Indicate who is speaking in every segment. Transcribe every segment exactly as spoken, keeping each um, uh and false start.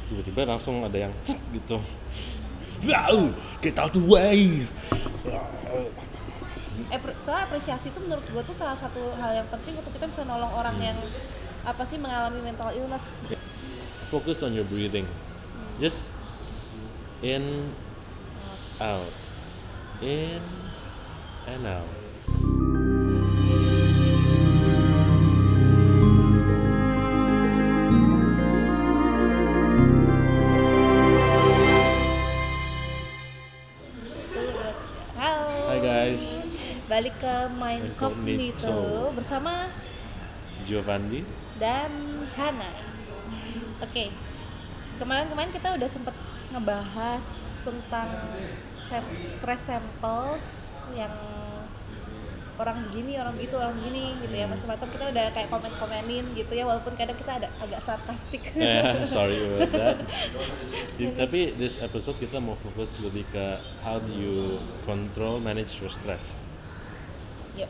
Speaker 1: tiba-tiba langsung ada yang cet gitu. Wow, get out the way.
Speaker 2: Soal apresiasi itu menurut gue tuh salah satu hal yang penting untuk kita bisa nolong orang hmm. yang apa sih mengalami mental illness.
Speaker 1: Focus on your breathing. Hmm. Just in, out, in, and out.
Speaker 2: Balik ke Mind Cognito bersama
Speaker 1: Giovanni
Speaker 2: dan Hana. Oke, okay. Kemarin-kemarin kita udah sempet ngebahas tentang sem- stress samples yang orang begini, orang begitu, orang begini gitu ya, macam-macam. Kita udah kayak komen-komenin gitu ya, walaupun kadang kita ada agak sarkastik.
Speaker 1: Yeah, sorry about that. Tapi this episode kita mau fokus lebih ke how do you control, manage your stress.
Speaker 2: Yep.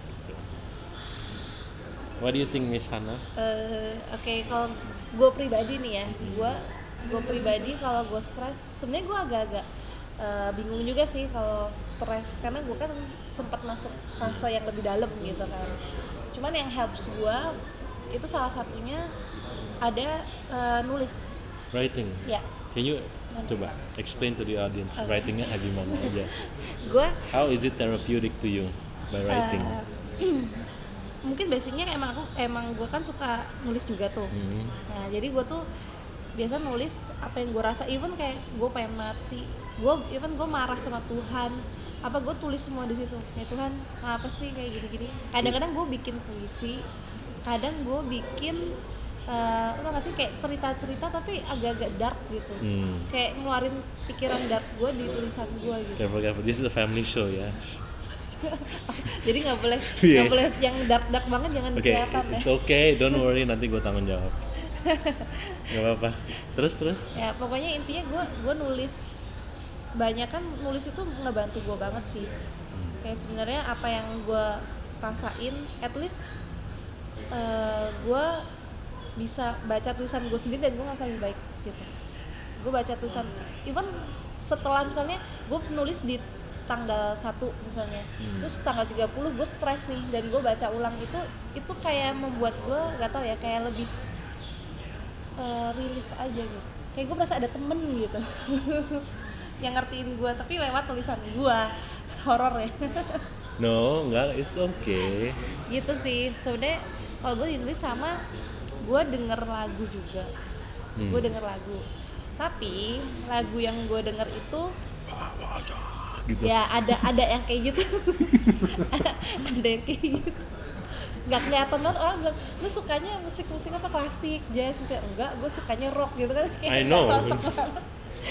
Speaker 1: What do you think, Miss Hana?
Speaker 2: Uh, Oke, okay, kalau gue pribadi nih ya, gue gue pribadi kalau gue stres, sebenarnya gue agak-agak uh, bingung juga sih kalau stres, karena gue kan sempat masuk fase yang lebih dalam gitu kan. Cuman yang helps gue itu salah satunya ada uh, nulis.
Speaker 1: Writing.
Speaker 2: Ya. Yeah.
Speaker 1: Can you coba explain to the audience okay. writingnya gimana aja?
Speaker 2: Gue.
Speaker 1: How is it therapeutic to you? By writing.
Speaker 2: Uh, mungkin basicnya emang aku emang gue kan suka nulis juga tuh. Mm. Nah jadi gue tuh biasa nulis apa yang gue rasa, even kayak gue pengen mati, gue even gue marah sama Tuhan, apa gue tulis semua di situ. Ya Tuhan, apa sih kayak gini-gini. Kadang-kadang gue bikin puisi, kadang gue bikin uh, lo nggak sih kayak cerita-cerita tapi agak-agak dark gitu. Mm. Kayak ngeluarin pikiran dark gue di tulisan gue gitu.
Speaker 1: Careful, careful. This is a family show ya.
Speaker 2: Jadi nggak boleh nggak yeah. boleh yang dark dark banget, jangan
Speaker 1: okay,
Speaker 2: kelihatan ya.
Speaker 1: It's okay, don't worry, nanti gue tanggung jawab. Gak apa-apa. Terus terus.
Speaker 2: Ya pokoknya intinya gue gue nulis banyak kan, nulis itu ngebantu gue banget sih. Hmm. Kayak sebenarnya apa yang gue rasain, at least uh, gue bisa baca tulisan gue sendiri dan gue ngerasa lebih baik gitu. Gue baca tulisan, even setelah misalnya gue nulis di tanggal satu misalnya, hmm. terus tanggal tiga puluh gue stres nih dan gue baca ulang itu, itu kayak membuat gue gak tau ya, kayak lebih uh, relief aja gitu, kayak gue merasa ada temen gitu yang ngertiin gue, tapi lewat tulisan gue. Horor ya.
Speaker 1: No, enggak, it's okay
Speaker 2: gitu sih sebenarnya. Kalau gue ditulis sama gue denger lagu juga, hmm. gue denger lagu, tapi lagu yang gue denger itu gitu. Ya ada ada yang kayak gitu. ada, ada yang kayak gitu. Nggak kelihatan banget, orang bilang lu sukanya musik-musik apa, klasik, jazz gitu. Enggak, gue sukanya rock gitu kan.
Speaker 1: I know.
Speaker 2: Cocok banget.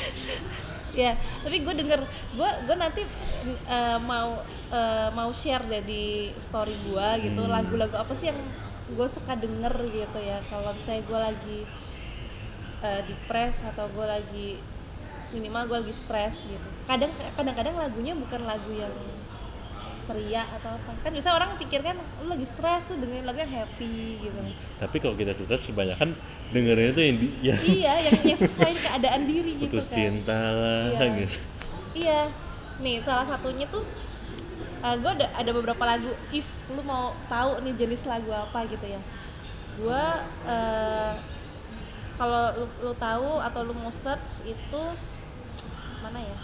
Speaker 2: Ya, tapi gue denger, gue gue nanti uh, mau uh, mau share deh di story gue gitu, hmm. lagu-lagu apa sih yang gue suka denger gitu ya. Kalau misalnya gue lagi uh, depres atau gue lagi minimal gue lagi stres gitu. Kadang kadang-kadang lagunya bukan lagu yang ceria atau apa. Kan bisa orang pikir kan lu lagi stres tuh dengerin lagu yang happy gitu.
Speaker 1: Tapi kalau kita stres kebanyakan dengerin itu yang di, yang
Speaker 2: iya, yang yang sesuai keadaan diri gitu kan.
Speaker 1: Putus cinta lah
Speaker 2: iya.
Speaker 1: gitu.
Speaker 2: Iya. Nih, salah satunya tuh uh, gue ada ada beberapa lagu, if lu mau tahu nih jenis lagu apa gitu ya. Gue uh, kalau lu, lu tahu atau lu mau search itu mana ya?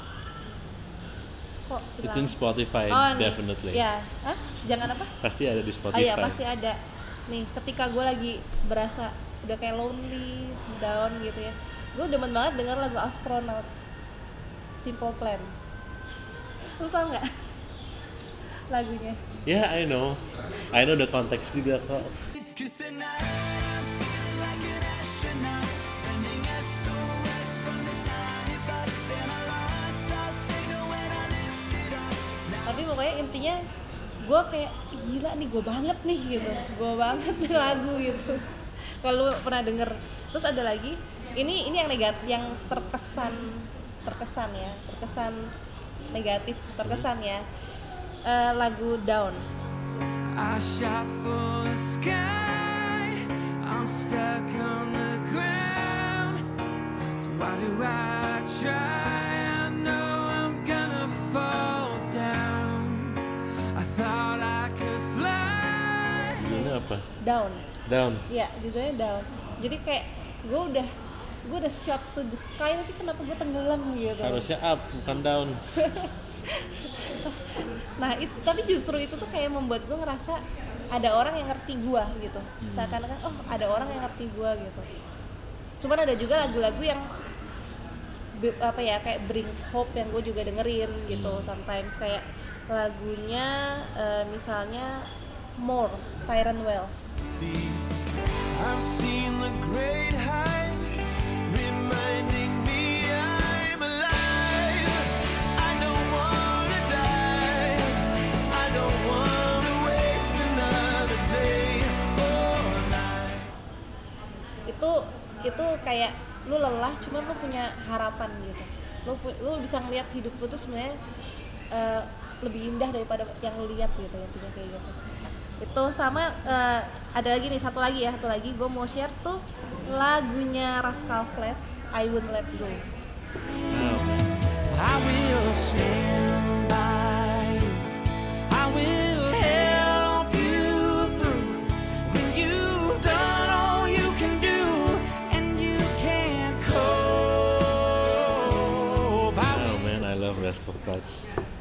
Speaker 2: Kok
Speaker 1: It's in Spotify,
Speaker 2: oh,
Speaker 1: definitely.
Speaker 2: Ya, hah? Jangan apa?
Speaker 1: Pasti ada di Spotify.
Speaker 2: Oh iya, pasti ada. Nih, ketika gue lagi berasa udah kayak lonely, down gitu ya, gue demen banget denger lagu Astronaut, Simple Plan. Lu tau nggak lagunya?
Speaker 1: Yeah, I know. I know the context juga kok. Tapi
Speaker 2: pokoknya intinya gue kayak gila nih, gue banget nih gitu, gue banget nih lagu gitu. Kalau pernah denger. Terus ada lagi, ini ini yang negatif, yang terkesan terkesan ya, terkesan negatif, terkesan ya, uh, lagu Down. I shot for the sky, I'm stuck on the ground,
Speaker 3: Why do I try? I know I'm gonna fall down. I thought I could fly.
Speaker 1: Judulnya apa?
Speaker 2: Down.
Speaker 1: Down.
Speaker 2: Iya, judulnya Down. Jadi kayak gue udah gue udah shot to the sky, tapi kenapa gue tenggelam gitu.
Speaker 1: Harusnya up, bukan down.
Speaker 2: Nah itu, tapi justru itu tuh kayak membuat gue ngerasa ada orang yang ngerti gue gitu. Seakan-akan oh ada orang yang ngerti gue gitu. Cuman ada juga lagu-lagu yang apa ya kayak brings hope yang gue juga dengerin gitu. Sometimes kayak lagunya uh, misalnya More, Tyrone Wells.
Speaker 3: I've seen the great heights reminding me I'm alive. I don't wanna die. I don't wanna waste another day or night.
Speaker 2: Itu itu kayak lu lelah cuman lu punya harapan gitu. Lu lu bisa ngelihat hidup lu tuh sebenarnya uh, lebih indah daripada yang lu lihat gitu, intinya kayak gitu. Itu sama uh, ada lagi nih satu lagi ya satu lagi gue mau share tuh lagunya Rascal Flatts, I Won't Let Go.
Speaker 3: I will stand by you. I will help you through when you've done all you can do and you can't cope.
Speaker 1: Oh man, I love Rascal Flatts.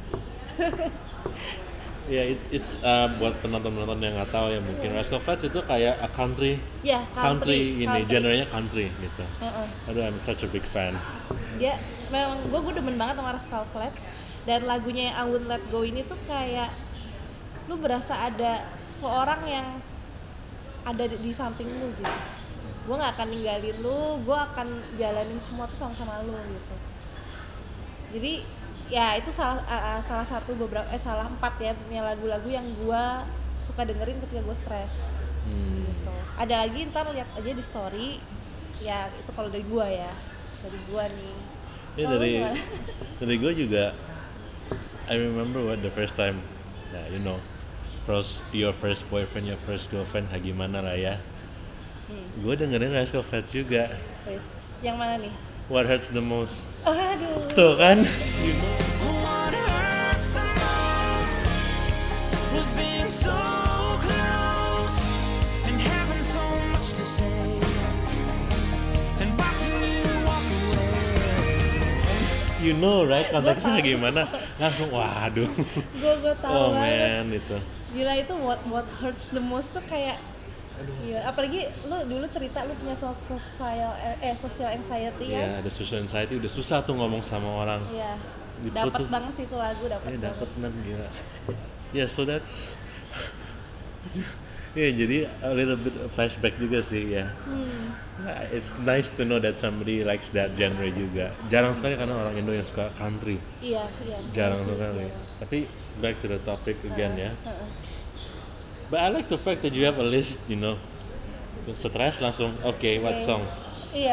Speaker 1: Ya, yeah, it, it's uh, buat penonton-penonton yang nggak tahu ya mungkin Rascal Flatts itu kayak a country,
Speaker 2: ya,
Speaker 1: country,
Speaker 2: country
Speaker 1: ini,
Speaker 2: country.
Speaker 1: genrenya country gitu.
Speaker 2: Uh-uh.
Speaker 1: Aduh, I'm such a big fan.
Speaker 2: Dia memang gue gue demen banget sama Rascal Flatts, dan lagunya yang I Won't Let Go ini tuh kayak lu berasa ada seorang yang ada di, di samping lu gitu. Gue nggak akan ninggalin lu, gue akan jalanin semua tuh sama-sama lu gitu. Jadi ya itu salah uh, salah satu beberapa eh salah empat ya punya lagu-lagu yang gue suka dengerin ketika gue stres.
Speaker 1: Hmm.
Speaker 2: Gitu. Ada lagi ntar lihat aja di story, ya itu kalau dari gue ya dari gue nih.
Speaker 1: Ya
Speaker 2: Kalo
Speaker 1: dari
Speaker 2: lu gimana?
Speaker 1: dari gue juga. I remember what the first time, nah you know, first your first boyfriend, your first girlfriend, ha, gimana lah ya.
Speaker 2: Hmm.
Speaker 1: Gue dengerin Rascal Flatts juga.
Speaker 2: Wes, yang mana nih?
Speaker 1: What hurts the most?
Speaker 2: Oh, aduh.
Speaker 1: Tuh kan? You know.
Speaker 3: What hurts the most was being so close and having so much to say and watching you walk away.
Speaker 1: You know right, konteksnya gimana? Langsung waduh.
Speaker 2: Gue gue tahu
Speaker 1: Oh
Speaker 2: banget.
Speaker 1: man, itu.
Speaker 2: Gila itu what what hurts the most tuh kayak iya, apalagi lu dulu cerita lu punya social eh social anxiety
Speaker 1: Iya,
Speaker 2: ya.
Speaker 1: ada social anxiety, udah susah tuh ngomong sama orang.
Speaker 2: Iya.
Speaker 1: Gitu
Speaker 2: Dapat
Speaker 1: tuh.
Speaker 2: banget sih itu lagu, dapat
Speaker 1: Iya,
Speaker 2: banget.
Speaker 1: dapat banget gila. Yeah, so that's ya yeah, jadi a little bit of flashback juga sih ya.
Speaker 2: Hmm.
Speaker 1: Yeah, it's nice to know that somebody likes that genre juga. Jarang sekali karena orang Indo yang suka country.
Speaker 2: Iya, iya.
Speaker 1: Jarang
Speaker 2: iya sih,
Speaker 1: sekali.
Speaker 2: iya.
Speaker 1: Tapi back to the topic again ya.
Speaker 2: Heeh.
Speaker 1: But I like the fact that you have a list, you know. Stress langsung, oke, okay, what
Speaker 2: Okay.
Speaker 1: song?
Speaker 2: Iya.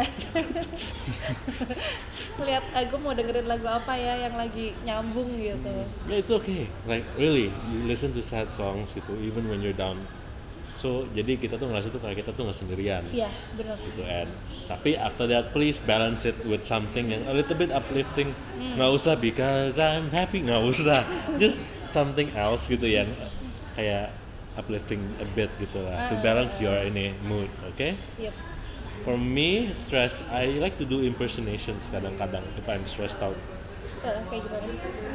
Speaker 2: Lihat aku mau dengerin lagu apa ya yang lagi nyambung gitu.
Speaker 1: Yeah, it's okay. Like really, you listen to sad songs gitu, even when you're down. So jadi kita tuh ngerasa tuh kayak kita tuh nggak sendirian.
Speaker 2: Iya, benar.
Speaker 1: Gitu and tapi after that please balance it with something yang a little bit uplifting. Nggak usah because I'm happy, nggak usah. Just something else gitu yang kayak uplifting a bit gitu lah to balance your ini mood, okay?
Speaker 2: Yep.
Speaker 1: For me, stress, I like to do impersonations kadang-kadang if I'm stressed out.
Speaker 2: Uh, kayak gimana?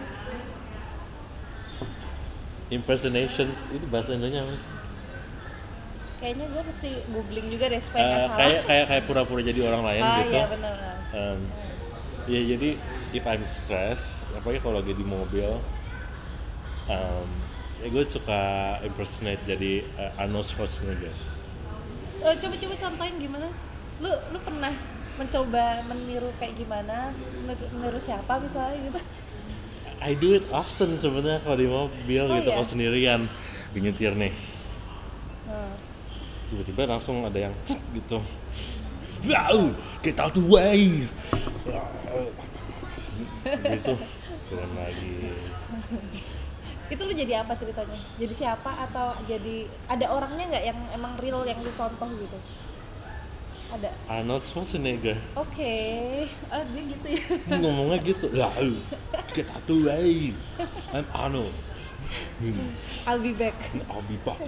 Speaker 1: Impersonations itu bahasa Indonesia apa sih?
Speaker 2: Kayaknya gue mesti googling juga deh supaya nggak
Speaker 1: Uh,
Speaker 2: salah.
Speaker 1: kayak kayak kayak pura-pura jadi orang lain
Speaker 2: Ah
Speaker 1: gitu.
Speaker 2: iya benar.
Speaker 1: Um, ya jadi if I'm stressed, apalagi kalau lagi di mobil, um, ya gue suka impersonate jadi uh, Arnold Schwarzenegger.
Speaker 2: Oh, coba-coba contohin gimana? Lu lu pernah mencoba meniru kayak gimana? Meniru siapa misalnya gitu?
Speaker 1: I do it often sebenarnya kalau di mobil
Speaker 2: Oh,
Speaker 1: gitu
Speaker 2: iya?
Speaker 1: kalau sendirian, di nyetir nih.
Speaker 2: Hmm.
Speaker 1: Tiba-tiba langsung ada yang cet gitu. Wow, get out the way. Habis itu turun lagi.
Speaker 2: Itu lu jadi apa ceritanya? Jadi siapa atau jadi ada orangnya nggak yang emang real yang lu contoh gitu? Ada.
Speaker 1: Arnold Schwarzenegger.
Speaker 2: Oke, ah dia gitu ya.
Speaker 1: Ngomongnya gitu. Lah, get tattoo way. I'm Arnold. Hmm.
Speaker 2: I'll be back.
Speaker 1: I'll be back.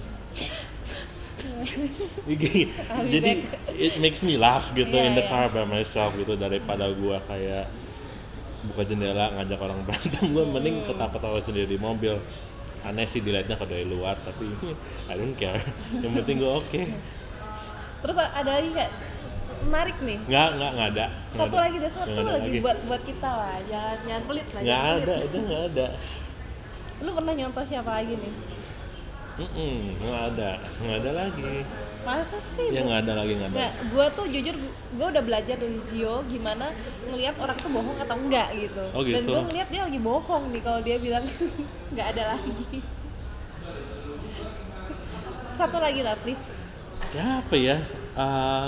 Speaker 1: Jadi it makes me laugh gitu
Speaker 2: Yeah,
Speaker 1: in the
Speaker 2: yeah.
Speaker 1: car by myself gitu, daripada gua kayak buka jendela ngajak orang berantem, gua mending ketawa-ketawa sendiri di mobil. Aneh sih dilihatnya kalau dari luar, tapi I don't care. Yang penting gua oke. Okay.
Speaker 2: Terus ada lagi nggak menarik nih?
Speaker 1: Nggak, nggak, nggak ada. Nggak
Speaker 2: Satu
Speaker 1: ada.
Speaker 2: lagi deh, satu
Speaker 1: Nggak ada
Speaker 2: lagi buat buat kita lah, jangan jangan pelit lah.
Speaker 1: Nggak
Speaker 2: jangan
Speaker 1: ada,
Speaker 2: pelit.
Speaker 1: itu nggak ada.
Speaker 2: Lu pernah nyontoh siapa lagi nih?
Speaker 1: Mm-mm, nggak ada, nggak ada lagi.
Speaker 2: Masa sih?
Speaker 1: Ya
Speaker 2: Bu?
Speaker 1: nggak ada lagi, nggak ada.
Speaker 2: Nggak, gua tuh jujur gua udah belajar dari Gio gimana ngelihat orang tuh bohong atau enggak gitu.
Speaker 1: Oh, gitu.
Speaker 2: Dan gua ngeliat dia lagi bohong nih kalau dia bilang nggak ada lagi. Satu lagi lah please.
Speaker 1: Siapa ya? Uh,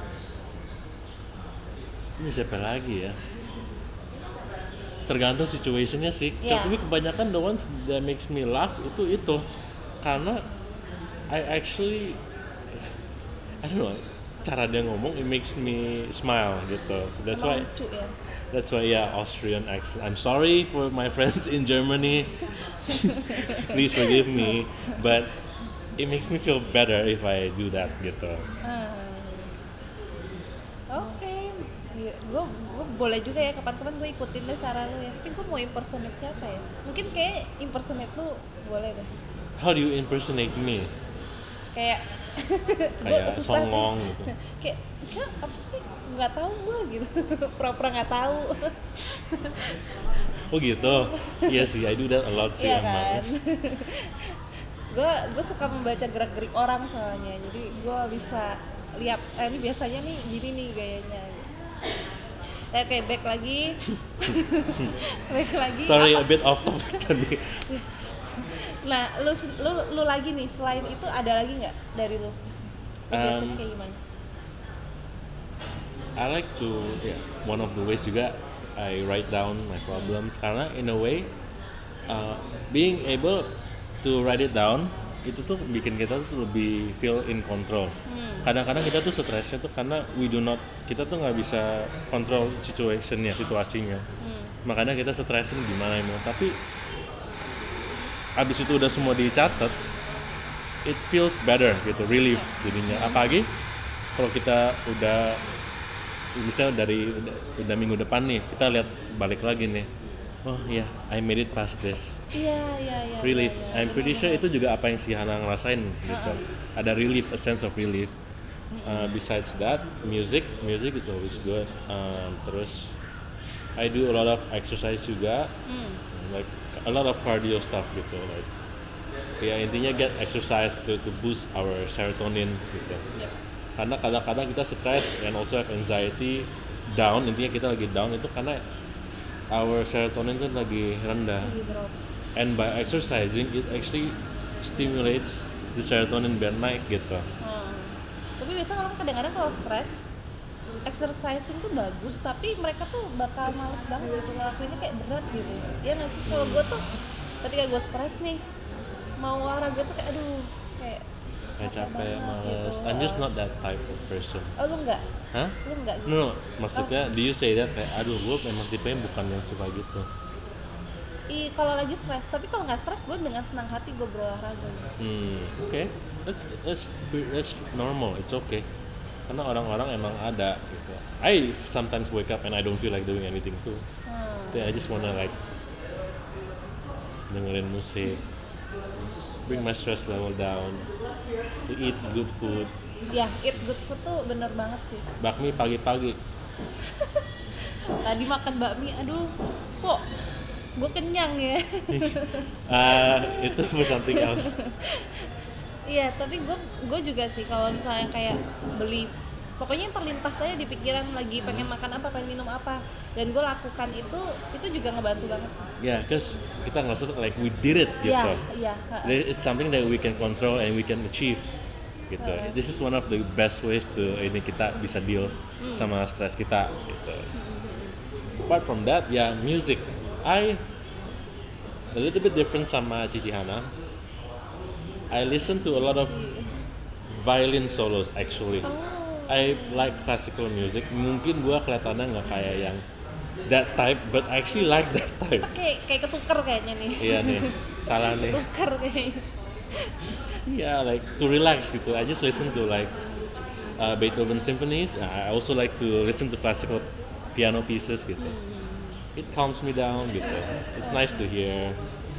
Speaker 1: ini siapa lagi ya? Tergantung situationnya sih.
Speaker 2: Yeah.
Speaker 1: Tapi kebanyakan the ones that makes me laugh itu itu karena I actually I don't know, cara dia ngomong it makes me smile gitu. So that's why
Speaker 2: Emang lucu ya.
Speaker 1: that's why yeah, Austrian accent. I'm sorry for my friends in Germany. Please forgive me, but it makes me feel better if I do that gitu.
Speaker 2: Hmm. Oke, gue gue boleh juga ya kapan-kapan gue ikutin deh cara lu ya. Tapi gue mau impersonate siapa ya? Mungkin kayak impersonate lu boleh deh.
Speaker 1: How do you impersonate me?
Speaker 2: Kayak
Speaker 1: Kayak
Speaker 2: susah
Speaker 1: songong
Speaker 2: sih.
Speaker 1: gitu.
Speaker 2: Kayak ya, apa sih? Nggak tahu gue gitu. Pura-pura nggak tahu.
Speaker 1: Oh gitu. Iya sih, I do that a lot sih
Speaker 2: Iya
Speaker 1: emang.
Speaker 2: kan. gue gue suka membaca gerak-gerik orang soalnya. Jadi gue bisa lihat eh, ini biasanya nih gini nih gayanya. Eh, kayak back lagi. back lagi.
Speaker 1: Sorry,
Speaker 2: apa?
Speaker 1: a bit off topic tadi.
Speaker 2: Nah, lu, lu lu lagi nih selain itu ada lagi nggak dari lu? Lu biasanya
Speaker 1: Um,
Speaker 2: kayak gimana?
Speaker 1: I like to, yeah, one of the ways juga I write down my problems karena in a way uh, being able to write it down itu tuh bikin kita tuh lebih feel in control.
Speaker 2: Hmm.
Speaker 1: Kadang-kadang kita tuh stresnya tuh karena we do not, kita tuh nggak bisa kontrol situationnya, situasinya.
Speaker 2: Hmm.
Speaker 1: Makanya kita stresin gimana emang. Tapi abis itu udah semua dicatat, it feels better gitu, relief jadinya. Apalagi kalau kita udah misalnya dari udah, udah minggu depan nih, kita lihat balik lagi nih, oh ya, yeah, I made it past this.
Speaker 2: Iya, iya, iya.
Speaker 1: Relief.
Speaker 2: iya, iya.
Speaker 1: I'm pretty sure itu juga apa yang si Hana ngerasain gitu. Ada relief, a sense of relief. Uh, besides that, music, music is always good. Um, terus I do a lot of exercise juga,
Speaker 2: Hmm.
Speaker 1: like a lot of cardio stuff gitu. Like, ya intinya get exercise gitu to boost our serotonin gitu.
Speaker 2: Yep.
Speaker 1: Karena kadang-kadang kita stress and also have anxiety, down, intinya kita lagi down itu karena our serotonin itu lagi rendah.
Speaker 2: Lagi drop.
Speaker 1: And by exercising, it actually stimulates the serotonin biar naik gitu.
Speaker 2: Hmm. Tapi biasanya orang kadang-kadang kalau stres, exercising tuh bagus, tapi mereka tuh bakal males banget gitu ngelakuinnya, kayak berat gitu. Ya nggak sih? Kalau gue tuh ketika gue stres nih, mau olahraga tuh kayak aduh, kayak
Speaker 1: Kayak capek,
Speaker 2: banget
Speaker 1: males.
Speaker 2: gitu.
Speaker 1: I'm just not that type of person.
Speaker 2: Oh lu enggak?
Speaker 1: Hah?
Speaker 2: Lu enggak gitu?
Speaker 1: No, no, maksudnya do you say that kayak aduh gue memang tipenya bukan yang suka gitu.
Speaker 2: Ih, kalau lagi stres, tapi kalau nggak stres gue dengan senang hati gue berolahraga.
Speaker 1: Hmm, oke. Okay. That's that's that's normal. It's okay. Karena orang-orang emang ada gitu. I sometimes wake up and I don't feel like doing anything too.
Speaker 2: Hmm.
Speaker 1: Then I just wanna like dengerin musik, just bring my stress level down, to eat good food.
Speaker 2: Ya, eat good food tuh bener banget sih.
Speaker 1: Bakmi pagi-pagi.
Speaker 2: Tadi makan bakmi, aduh, kok gue kenyang ya.
Speaker 1: Ah, itu for something else.
Speaker 2: Iya, tapi gue gue juga sih kalau misalnya kayak beli, pokoknya yang terlintas saya di pikiran lagi pengen makan apa, pengen minum apa, dan gue lakukan itu, itu juga ngebantu banget sih.
Speaker 1: Yeah, cause kita ngerasa tuh like we did it gitu.
Speaker 2: Iya, iya.
Speaker 1: There- It's something that we can control and we can achieve gitu.
Speaker 2: Uh.
Speaker 1: This is one of the best ways to ini kita bisa deal sama stres kita gitu. Apart from that, ya yeah, music. I a little bit different sama Cici Hana. I listen to a lot of violin solos actually.
Speaker 2: Oh,
Speaker 1: I like classical music. Mungkin gua kelihatannya nggak kayak yang that type, but I actually like that type.
Speaker 2: Kita kayak kayak ketuker kayaknya nih.
Speaker 1: Iya nih, salah nih.
Speaker 2: Ketuker kayaknya.
Speaker 1: Yeah, like to relax gitu. I just listen to like uh, Beethoven symphonies. I also like to listen to classical piano pieces gitu. It calms me down gitu. It's nice to hear.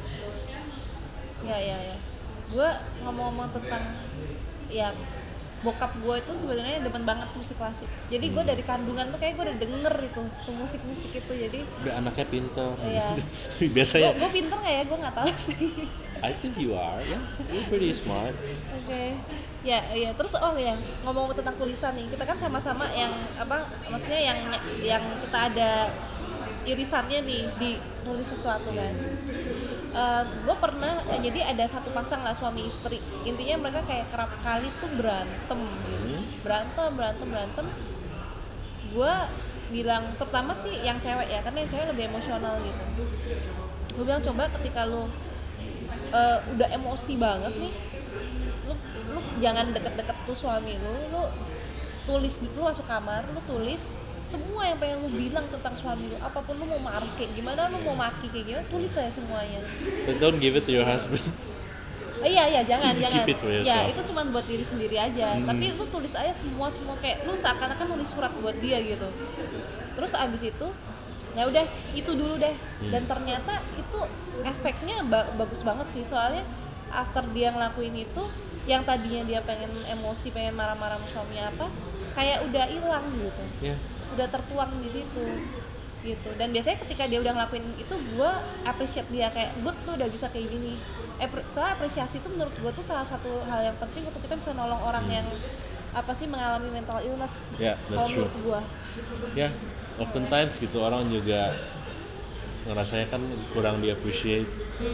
Speaker 2: Ya ya ya. Gue ngomong-ngomong tentang ya bokap gue itu sebenarnya demen banget musik klasik. Jadi gue
Speaker 1: Hmm.
Speaker 2: dari kandungan tuh kayak gue udah denger itu tuh musik-musik itu. Jadi
Speaker 1: Udah anaknya pintar.
Speaker 2: Iya.
Speaker 1: Biasanya.
Speaker 2: gue gue pinter nggak ya? Gue nggak tahu sih.
Speaker 1: I think you are, yeah. You're pretty smart.
Speaker 2: Oke, ya, ya. Terus oh ya ngomong tentang tulisan nih, kita kan sama-sama yang apa? Maksudnya yang yang kita ada irisannya nih di nulis sesuatu kan. Uh, gue pernah eh, jadi ada satu pasang lah suami istri. Intinya mereka kayak kerap kali tuh berantem, gitu.
Speaker 1: Hmm.
Speaker 2: berantem, berantem, berantem. Gue bilang, terutama sih yang cewek ya, karena yang cewek lebih emosional gitu. Gue bilang coba ketika lu uh, udah emosi banget nih, lu lu jangan deket-deket tuh suami lu, lu tulis, lu masuk kamar, lu tulis semua yang pengen lu bilang tentang suami lu, apapun lu mau marah kayak gimana, lu mau maki kayak gimana, tulis aja semuanya.
Speaker 1: But don't give it to your husband.
Speaker 2: Oh, iya iya jangan
Speaker 1: Keep
Speaker 2: jangan.
Speaker 1: it for yourself.
Speaker 2: Ya itu cuma buat diri sendiri aja.
Speaker 1: Hmm.
Speaker 2: Tapi lu tulis aja semua semua kayak lu seakan-akan nulis surat buat dia gitu. Terus abis itu ya udah itu dulu deh.
Speaker 1: Hmm.
Speaker 2: Dan ternyata itu efeknya ba- bagus banget sih, soalnya after dia ngelakuin itu, yang tadinya dia pengen emosi, pengen marah-marah sama suaminya apa, kayak udah hilang gitu.
Speaker 1: Yeah.
Speaker 2: Udah tertuang di situ gitu. Dan biasanya ketika dia udah ngelakuin itu, gue appreciate dia, kayak gue tuh udah bisa kayak gini. Epre- soalnya apresiasi itu menurut gue tuh salah satu hal yang penting untuk kita bisa nolong orang
Speaker 1: Hmm.
Speaker 2: yang apa sih mengalami mental illness.
Speaker 1: Yeah, that's
Speaker 2: Kalau
Speaker 1: true.
Speaker 2: menurut gue.
Speaker 1: Ya, yeah, oftentimes gitu orang juga ngerasanya kan kurang di appreciate.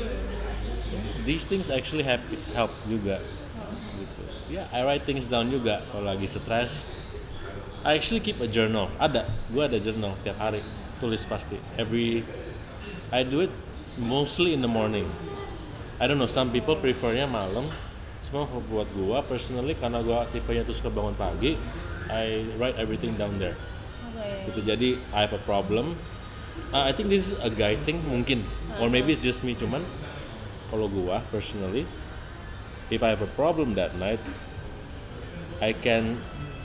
Speaker 1: These things actually help help juga. Gitu. Ya, yeah, I write things down juga kalau lagi stres. I actually keep a journal. Ada, gue ada journal tiap hari, tulis pasti. Every, I do it mostly in the morning. I don't know, some people prefernya malam. Cuma buat gue personally, karena gue tipenya tuh suka bangun pagi, I write everything down there.
Speaker 2: Oke.
Speaker 1: Gitu. Jadi I have a problem. Uh, I think this is a guy thing mungkin, or maybe it's just me. Cuman kalau gue personally, if I have a problem that night, I can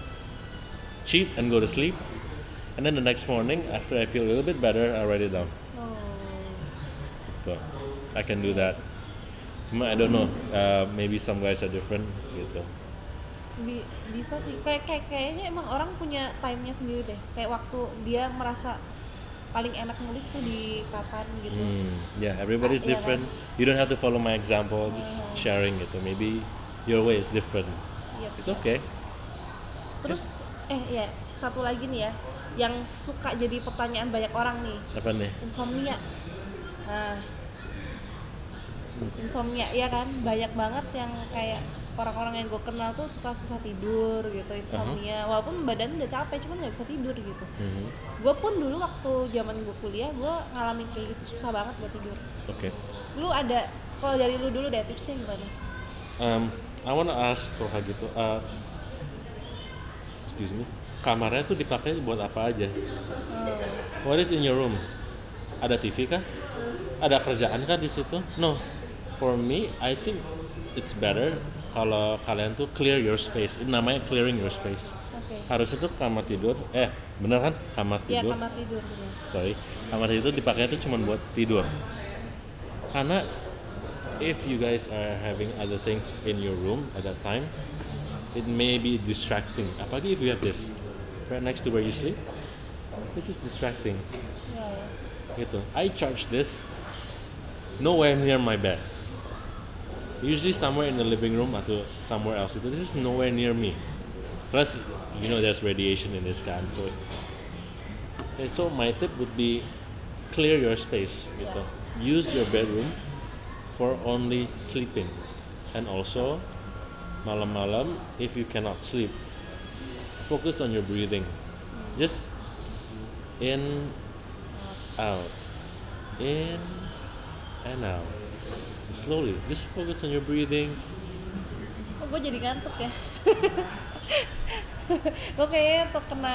Speaker 1: cheat and go to sleep, and then the next morning after I feel a little bit better, I write it down.
Speaker 2: Oh.
Speaker 1: Gitu. I can do that. Cuma I don't know, uh, maybe some guys are different gitu.
Speaker 2: Bi- bisa sih. Kayak kayak kayaknya emang orang punya time-nya sendiri deh. Kayak waktu dia merasa paling enak nulis tuh di kapan gitu.
Speaker 1: Hmm, yeah, everybody's
Speaker 2: Ah, iya
Speaker 1: different. You don't have to follow my example, just sharing gitu. Maybe your way is different.
Speaker 2: Yep.
Speaker 1: It's okay.
Speaker 2: Terus eh ya satu lagi nih ya, yang suka jadi pertanyaan banyak orang nih,
Speaker 1: Apa nih?
Speaker 2: insomnia. Nah, insomnia ya kan, banyak banget yang kayak orang-orang yang gue kenal tuh suka susah tidur gitu, insomnia. Walaupun badan udah capek, cuman nggak bisa tidur gitu.
Speaker 1: Mhm.
Speaker 2: Gue pun dulu waktu zaman gue kuliah, gue ngalamin kayak gitu, susah banget buat tidur.
Speaker 1: Oke.
Speaker 2: Lu ada, kalau dari lu dulu deh tipsnya gimana?
Speaker 1: Um, I wanna ask kalau kayak gitu. Uh, excuse me. Kamarnya tuh dipakai buat apa aja?
Speaker 2: Oh.
Speaker 1: What is in your room? Ada T V kah? Ada kerjaan kah di situ? No. For me, I think it's better kalau kalian tuh clear your space. Ini namanya clearing your space.
Speaker 2: Oke.
Speaker 1: Harusnya tuh kamar tidur. Eh, bener kan? Kamar
Speaker 2: Ya
Speaker 1: tidur.
Speaker 2: kamar tidur bener.
Speaker 1: Sorry. Kamar tidur dipakai tuh cuma buat tidur. Karena if you guys are having other things in your room at that time, it may be distracting. Apalagi if you have this right next to where you sleep. This is distracting.
Speaker 2: Ya, ya.
Speaker 1: Gitu. I charge this nowhere near my bed. Usually somewhere in the living room atau somewhere else. Itu this is nowhere near me. Plus, you know, there's radiation in this kan. So, and so my tip would be clear your space. Gitu. Use your bedroom for only sleeping, and also malam-malam if you cannot sleep, focus on your breathing. Just in, out, in, and out. Slowly, just focus on your breathing.
Speaker 2: Oh, gue jadi ngantuk ya. Gue kayaknya terkena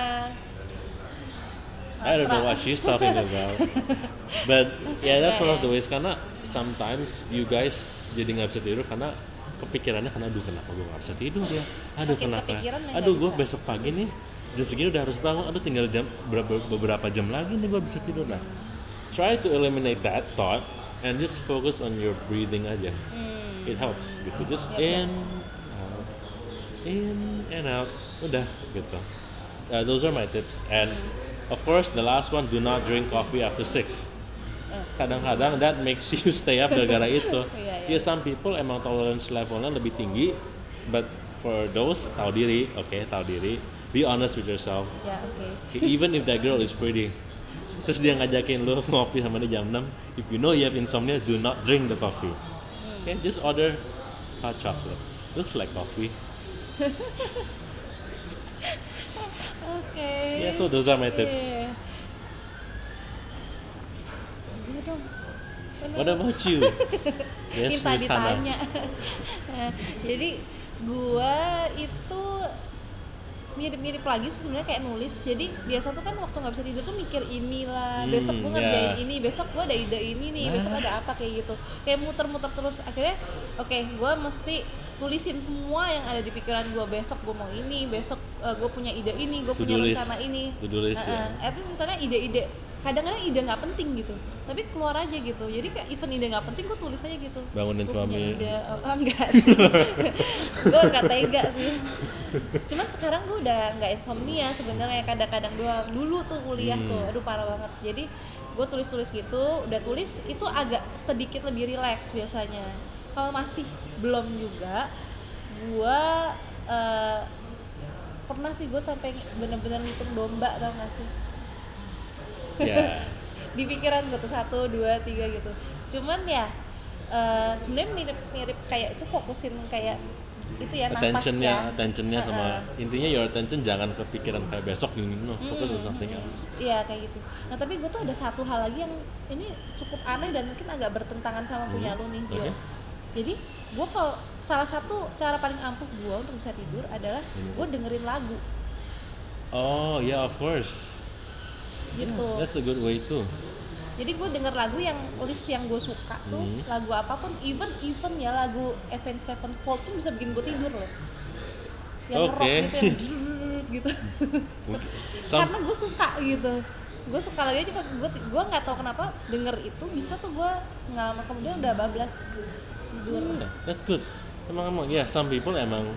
Speaker 1: I don't know what she's talking about. But yeah, that's one of the
Speaker 2: Yeah.
Speaker 1: ways karena sometimes you guys jadi nggak bisa tidur karena kepikirannya karena aduh kenapa gue nggak bisa tidur ya, aduh
Speaker 2: Makin
Speaker 1: kenapa,
Speaker 2: kepikiran dan
Speaker 1: aduh
Speaker 2: nggak
Speaker 1: gue
Speaker 2: bisa.
Speaker 1: besok pagi nih jam segini udah harus bangun, aduh tinggal jam beberapa, beberapa jam lagi nih gue bisa tidur. Nah, try to eliminate that thought and just focus on your breathing aja.
Speaker 2: Hmm.
Speaker 1: It helps gitu, just
Speaker 2: Yep, yep.
Speaker 1: in out, in and out, udah gitu. Uh, those are my tips. And of course the last one, do not drink coffee after six.
Speaker 2: Eh.
Speaker 1: Kadang-kadang that makes you stay up gara-gara itu.
Speaker 2: Iya, iya.
Speaker 1: Ya some people emang tolerance levelnya lebih tinggi, but for those tahu diri, oke tahu diri, be honest with yourself.
Speaker 2: Ya oke.
Speaker 1: Even if that girl is pretty, terus dia ngajakin lu ngopi sama dia jam enam, if you know you have insomnia, do not drink the coffee. Okay, just order hot chocolate. Looks like coffee.
Speaker 2: Oke.
Speaker 1: Yeah, so those are my tips.
Speaker 2: Iya. Gini dong. Bener.
Speaker 1: What about you? Yes,
Speaker 2: Minta
Speaker 1: Miss Hana.
Speaker 2: ditanya. Nah, jadi gua itu mirip-mirip lagi sih sebenarnya kayak nulis. Jadi biasa tuh kan waktu nggak bisa tidur tuh mikir inilah,
Speaker 1: Hmm,
Speaker 2: besok gua ngerjain
Speaker 1: ya.
Speaker 2: ini, besok gua ada ide ini nih, besok
Speaker 1: Nah.
Speaker 2: ada apa kayak gitu. Kayak muter-muter terus. Akhirnya oke, gua mesti tulisin semua yang ada di pikiran gua. Besok gua mau ini, besok uh, gua punya ide ini, gua
Speaker 1: To-do
Speaker 2: punya
Speaker 1: list.
Speaker 2: rencana ini.
Speaker 1: To-do list, ya.
Speaker 2: At least misalnya ide-ide, kadang-kadang ide nggak penting gitu, tapi keluar aja gitu. Jadi kayak even ide nggak penting gua tulis aja gitu.
Speaker 1: Bangunin
Speaker 2: Gua punya
Speaker 1: suami.
Speaker 2: ide, oh, enggak sih. Gue gak tega sih. Cuman sekarang gue udah nggak insomnia sebenarnya, kadang-kadang doang. Dulu tuh kuliah
Speaker 1: Hmm.
Speaker 2: tuh, aduh parah banget. Jadi gue tulis-tulis gitu, udah tulis itu agak sedikit lebih rileks biasanya. Kalau masih belum juga, gue uh, pernah sih gue sampai bener-bener ngitung domba, tau gak sih?
Speaker 1: Ya.
Speaker 2: Di pikiran gue tuh satu, dua, tiga gitu. Cuman ya uh, sebenarnya mirip-mirip kayak itu fokusin kayak itu ya nafas
Speaker 1: Attentionnya,
Speaker 2: ya.
Speaker 1: attentionnya sama
Speaker 2: Uh-uh.
Speaker 1: intinya your attention jangan kepikiran kayak besok gini, no, focus on
Speaker 2: Hmm.
Speaker 1: something else.
Speaker 2: Iya kayak gitu. Nah tapi gue tuh ada satu hal lagi yang ini cukup aneh dan mungkin agak bertentangan sama punya
Speaker 1: Hmm,
Speaker 2: lu nih, Jo.
Speaker 1: oke.
Speaker 2: Jadi gue kalau salah satu cara paling ampuh gue untuk bisa tidur adalah
Speaker 1: Hmm.
Speaker 2: gue dengerin lagu
Speaker 1: Oh yeah, of course.
Speaker 2: gitu.
Speaker 1: Yeah, that's a good way too.
Speaker 2: Jadi gue denger lagu yang list yang gue suka tuh,
Speaker 1: Hmm.
Speaker 2: lagu apapun, even even ya lagu Avenged Sevenfold tuh bisa bikin gue tidur loh. Yang
Speaker 1: Oke.
Speaker 2: rock gitu, yang drrrr gitu.
Speaker 1: Some,
Speaker 2: Karena gue suka gitu. Gue suka lagi aja, gue gue nggak tahu kenapa denger itu bisa tuh gue nggak lama kemudian udah bablas tidur.
Speaker 1: yeah, that's good. Emang emang ya, yeah, some people emang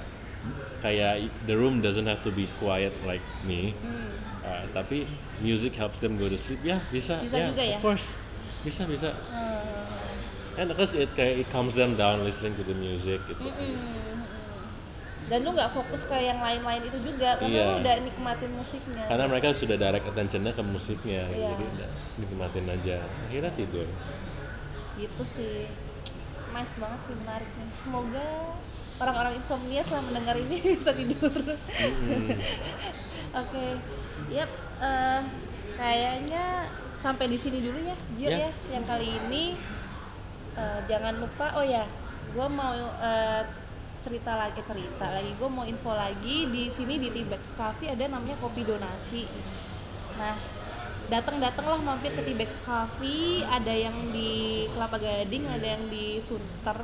Speaker 1: kayak the room doesn't have to be quiet like me.
Speaker 2: Hmm.
Speaker 1: Uh, tapi music helps them go to sleep. Ya bisa.
Speaker 2: Bisa
Speaker 1: yeah,
Speaker 2: juga ya?
Speaker 1: Of course. Bisa bisa.
Speaker 2: Hmm.
Speaker 1: And because it kayak it calms them down listening to the music gitu.
Speaker 2: Mm-mm. Dan lu nggak fokus ke yang lain-lain itu juga karena
Speaker 1: Iya.
Speaker 2: lu udah nikmatin musiknya.
Speaker 1: Karena mereka sudah direct attention-nya ke musiknya, gitu.
Speaker 2: Iya.
Speaker 1: Jadi udah nikmatin aja. Akhirnya tidur.
Speaker 2: Gitu sih. Nice banget sih, menarik nih. Semoga orang-orang insomnia setelah mendengar ini bisa tidur.
Speaker 1: Mm-mm.
Speaker 2: Oke, yap. eh, kayaknya sampai di sini dulu ya, Gio
Speaker 1: Ya.
Speaker 2: ya. Yang kali ini eh, jangan lupa. Oh ya, gue mau eh, cerita lagi, cerita lagi. Gue mau info lagi di sini di Tibex Cafe ada namanya kopi donasi. Nah, datang-datanglah mampir ke Tibex Cafe. Ada yang di Kelapa Gading, ada yang di Sunter.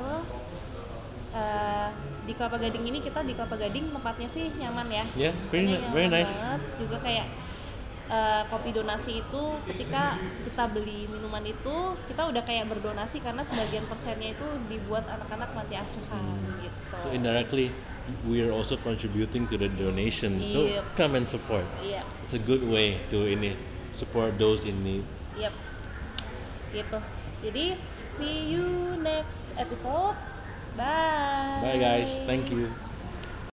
Speaker 2: Eh, di Kelapa Gading ini kita di Kelapa Gading tempatnya sih nyaman ya.
Speaker 1: Yeah, very
Speaker 2: Tempatnya
Speaker 1: ni- very
Speaker 2: nyaman
Speaker 1: nice.
Speaker 2: banget. Juga kayak eh, kopi donasi itu ketika kita beli minuman itu kita udah kayak berdonasi karena sebagian persennya itu dibuat anak-anak panti asuhan gitu.
Speaker 1: So indirectly, we are also contributing to the donation. So
Speaker 2: Yep.
Speaker 1: come and support.
Speaker 2: Iya,
Speaker 1: It's a good way to ini support those in need.
Speaker 2: yep. Gitu. Jadi see you next episode. Bye.
Speaker 1: Bye guys, thank you.